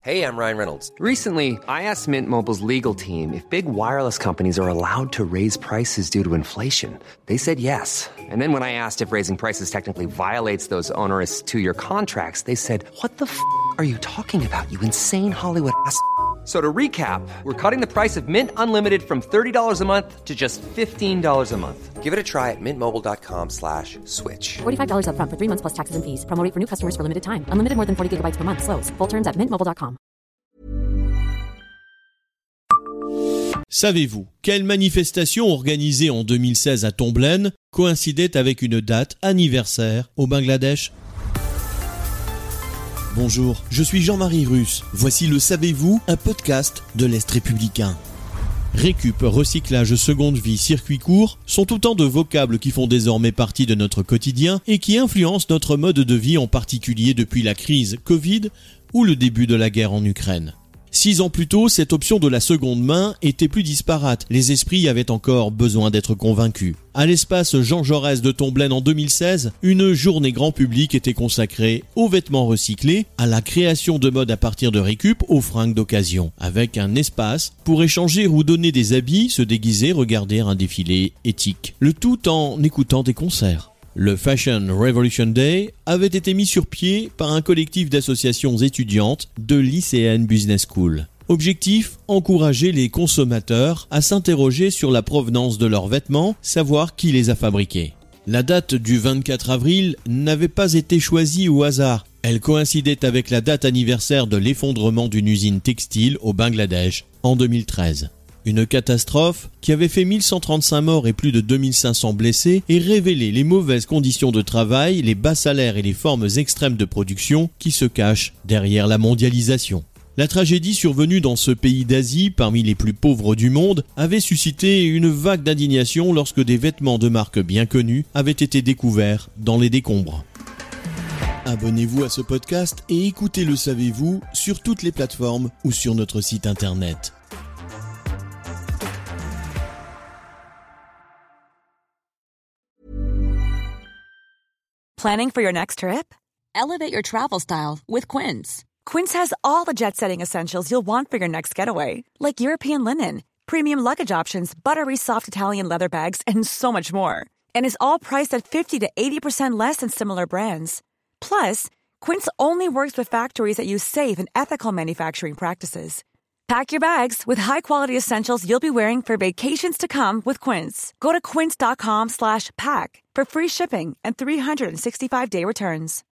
Hey, I'm Ryan Reynolds. Recently, I asked Mint Mobile's legal team if big wireless companies are allowed to raise prices due to inflation. They said yes. And then when I asked if raising prices technically violates those onerous two-year contracts, they said, "What the f*** are you talking about, you insane Hollywood ass?" So to recap, we're cutting the price of Mint Unlimited from $30 a month to just $15 a month. Give it a try at mintmobile.com/switch. $45 up front for 3 months plus taxes and fees. Promo rate for new customers for limited time. Unlimited more than 40 gigabytes per month. Slows full terms at mintmobile.com. Savez-vous quelle manifestation organisée en 2016 à Tomblaine coïncidait avec une date anniversaire au Bangladesh ? Bonjour, je suis Jean-Marie Russe. Voici le Savez-vous, un podcast de l'Est républicain. Récup, recyclage, seconde vie, circuit court sont autant de vocables qui font désormais partie de notre quotidien et qui influencent notre mode de vie, en particulier depuis la crise Covid ou le début de la guerre en Ukraine. 6 ans plus tôt, cette option de la seconde main était plus disparate. Les esprits avaient encore besoin d'être convaincus. À l'espace Jean Jaurès de Tomblaine en 2016, une journée grand public était consacrée aux vêtements recyclés, à la création de mode à partir de récup, aux fringues d'occasion, avec un espace pour échanger ou donner des habits, se déguiser, regarder un défilé éthique. Le tout en écoutant des concerts. Le Fashion Revolution Day avait été mis sur pied par un collectif d'associations étudiantes de l'ICN Business School. Objectif, encourager les consommateurs à s'interroger sur la provenance de leurs vêtements, savoir qui les a fabriqués. La date du 24 avril n'avait pas été choisie au hasard. Elle coïncidait avec la date anniversaire de l'effondrement d'une usine textile au Bangladesh en 2013. Une catastrophe qui avait fait 1135 morts et plus de 2500 blessés et révélé les mauvaises conditions de travail, les bas salaires et les formes extrêmes de production qui se cachent derrière la mondialisation. La tragédie survenue dans ce pays d'Asie, parmi les plus pauvres du monde, avait suscité une vague d'indignation lorsque des vêtements de marques bien connues avaient été découverts dans les décombres. Abonnez-vous à ce podcast et écoutez Le Savez-vous sur toutes les plateformes ou sur notre site internet. Planning for your next trip? Elevate your travel style with Quince. Quince has all the jet-setting essentials you'll want for your next getaway, like European linen, premium luggage options, buttery soft Italian leather bags, and so much more. And is all priced at 50 to 80% less than similar brands. Plus, Quince only works with factories that use safe and ethical manufacturing practices. Pack your bags with high-quality essentials you'll be wearing for vacations to come with Quince. Go to quince.com/pack for free shipping and 365-day returns.